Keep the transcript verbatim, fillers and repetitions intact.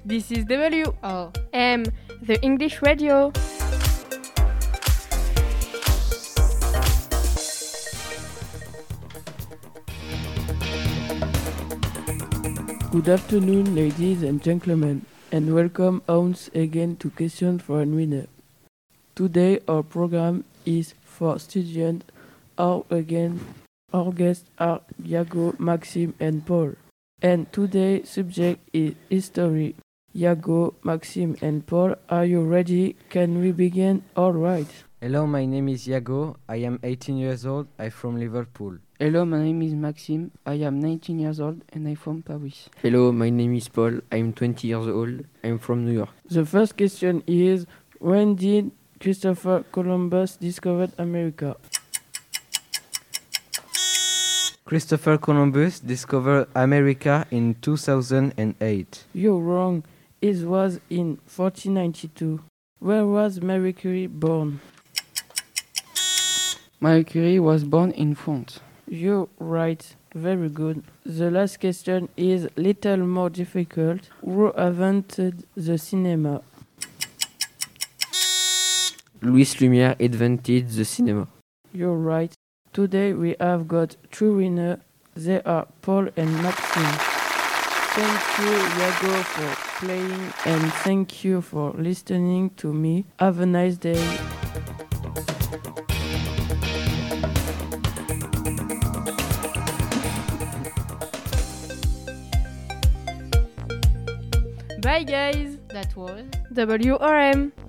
This is W O M, the English radio. Good afternoon, ladies and gentlemen, and welcome once again to Question for a Winner. Today our program is for students. Our again, our guests are Iago, Maxime, and Paul. And today's subject is history. Iago, Maxime, and Paul, are you ready? Can we begin? All right. Hello, my name is Iago. I am eighteen years old. I'm from Liverpool. Hello, my name is Maxime. I am nineteen years old and I'm from Paris. Hello, my name is Paul. I'm twenty years old. I'm from New York. The first question is, when did Christopher Columbus discover America? Christopher Columbus discovered America in two thousand eight. You're wrong. It was in fourteen ninety-two. Where was Marie Curie born? Marie Curie was born in France. You're right. Very good. The last question is little more difficult. Who invented the cinema? Louis Lumière invented the cinema. You're right. Today we have got two winners. They are Paul and Maxime. Thank you, Iago, for playing, and thank you for listening to me. Have a nice day. Bye guys. that was W R M.